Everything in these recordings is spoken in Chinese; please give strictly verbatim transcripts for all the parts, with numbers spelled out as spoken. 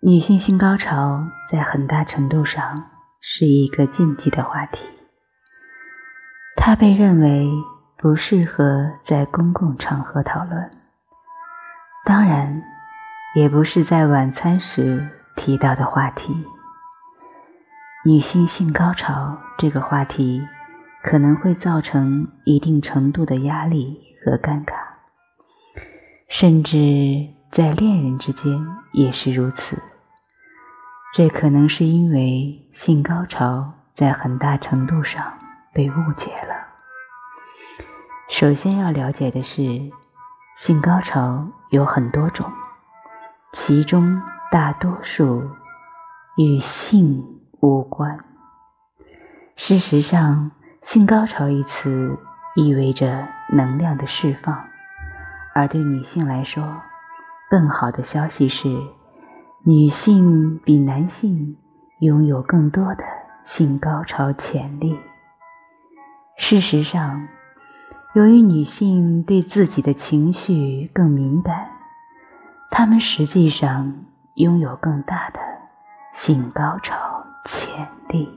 女性性高潮在很大程度上是一个禁忌的话题，它被认为不适合在公共场合讨论，当然也不是在晚餐时提到的话题。女性性高潮这个话题可能会造成一定程度的压力和尴尬，甚至在恋人之间也是如此。这可能是因为性高潮在很大程度上被误解了。首先要了解的是，性高潮有很多种，其中大多数与性无关。事实上，性高潮一词意味着能量的释放，而对女性来说，更好的消息是，女性比男性拥有更多的性高潮潜力。事实上，由于女性对自己的情绪更敏感，她们实际上拥有更大的性高潮潜力。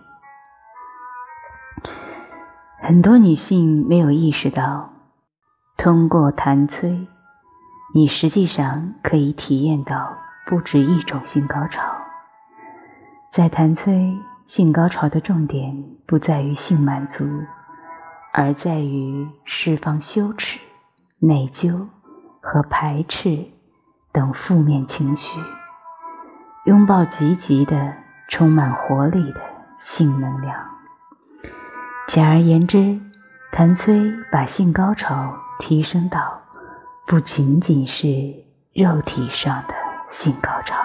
很多女性没有意识到，通过弹催，你实际上可以体验到不止一种性高潮。在弹催，性高潮的重点不在于性满足，而在于释放羞耻、内疚和排斥等负面情绪，拥抱积极的、充满活力的性能量。简而言之，弹催把性高潮提升到不仅仅是肉体上的性高潮。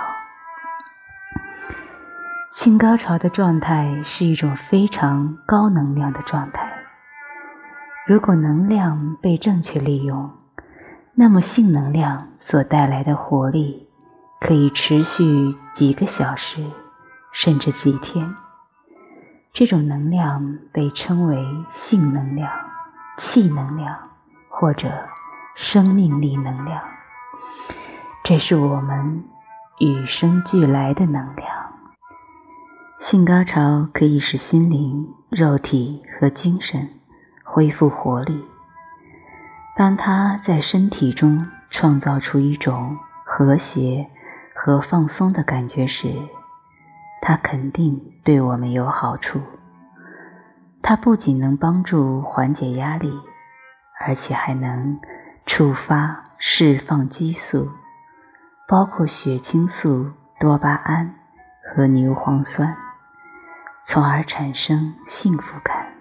性高潮的状态是一种非常高能量的状态。如果能量被正确利用，那么性能量所带来的活力可以持续几个小时，甚至几天。这种能量被称为性能量、气能量或者生命力能量。这是我们与生俱来的能量。性高潮可以使心灵、肉体和精神恢复活力。当它在身体中创造出一种和谐和放松的感觉时，它肯定对我们有好处。它不仅能帮助缓解压力，而且还能触发释放激素，包括血清素、多巴胺和牛磺酸，从而产生幸福感。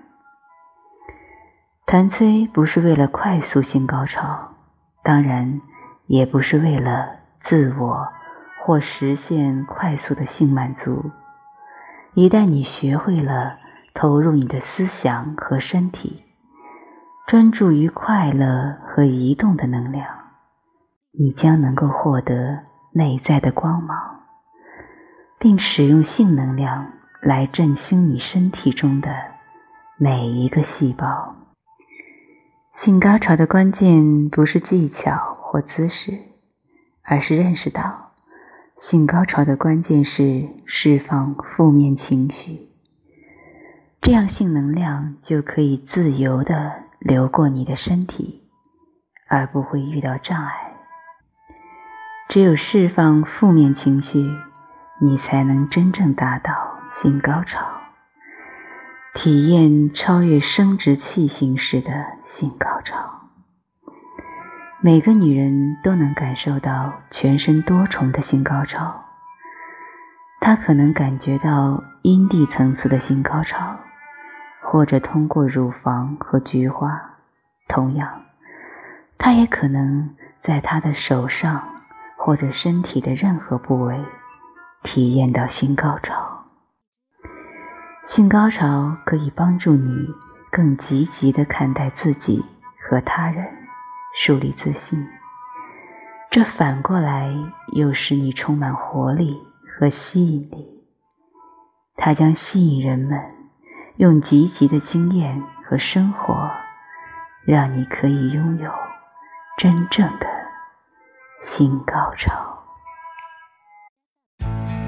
弹催不是为了快速性高潮，当然也不是为了自我或实现快速的性满足。一旦你学会了投入你的思想和身体，专注于快乐和移动的能量，你将能够获得内在的光芒，并使用性能量来振兴你身体中的每一个细胞。性高潮的关键不是技巧或姿势，而是认识到性高潮的关键是释放负面情绪，这样性能量就可以自由地流过你的身体，而不会遇到障碍。只有释放负面情绪，你才能真正达到性高潮，体验超越生殖器形式的性高潮。每个女人都能感受到全身多重的性高潮，她可能感觉到阴蒂层次的性高潮，或者通过乳房和菊花。同样，她也可能在她的手上或者身体的任何部位体验到性高潮。性高潮可以帮助你更积极地看待自己和他人，树立自信。这反过来又使你充满活力和吸引力。它将吸引人们用积极的经验和生活，让你可以拥有真正的性高潮。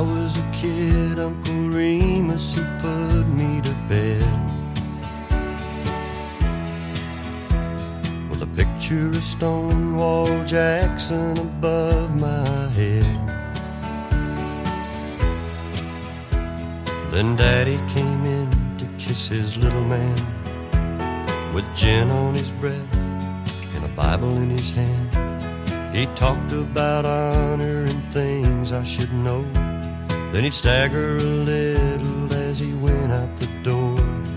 I was a kid, Uncle Remus, he put me to bed with a picture of Stonewall Jackson above my head. Then Daddy came in to kiss his little man with gin on his breath and a Bible in his hand. He talked about honor and things I should know. Then he'd stagger a little as he went out the door.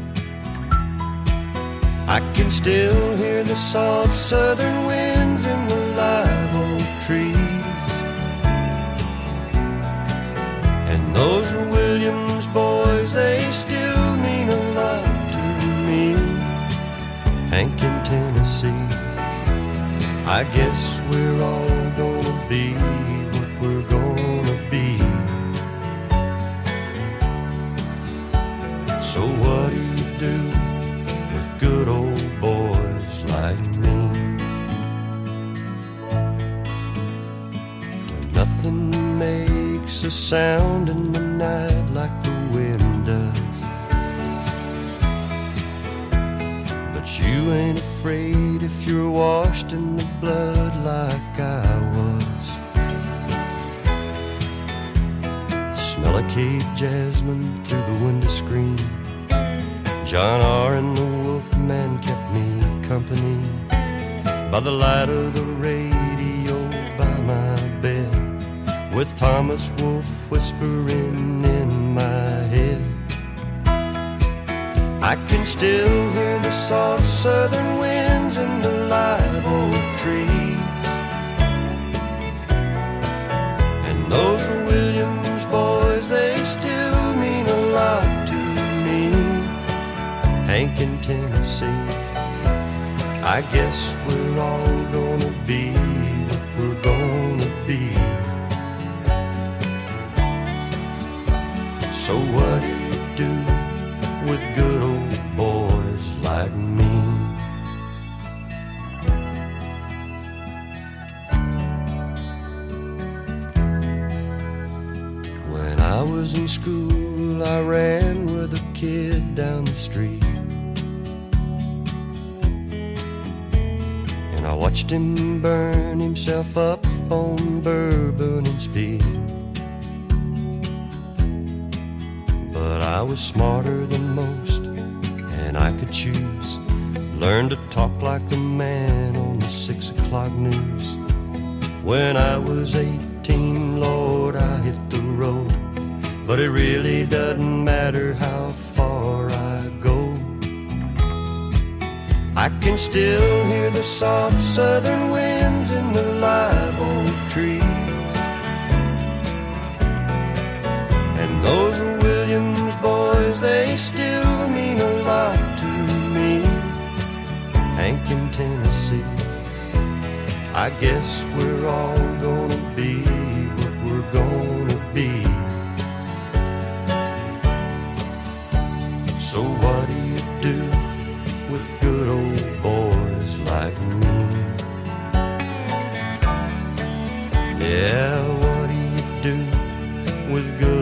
I can still hear the soft southern winds in the live oak trees, and those were Williams boys, they still mean a lot to me. Hank in Tennessee, I guess we're all gonna be what we're gonna be. So what do you do with good old boys like me? Nothing makes a sound in the night like the wind does, but you ain't afraid if you're washed in the blood like I was. The smell of cave jasmine through the window screen, John R. and the Wolfman kept me company by the light of the radio by my bed, with Thomas Wolfe whispering in my head. I can still hear the soft southern winds in the live oak trees, and those were Williams boys, they still mean a lot to me. Hank in Tennessee, I guess we're all gonna be what we're gonna be. So what do you do with good old boys like me? When I was in school, I ran with a kid down the street, and I watched him burn himself up on bourbon and speed. But I was smarter than most, and I could choose. Learn to talk like the man on the six o'clock news. When I was eighteen, Lord, I hit the road, but it really doesn't matter how far I go. I can still hear the soft southern winds in the live oak trees, and those are Williams boys, they still mean a lot to me. Hank in Tennessee, I guess we're all gonna be what we're gonna be. So what do you do with good old boys like me? Yeah, what do you do with good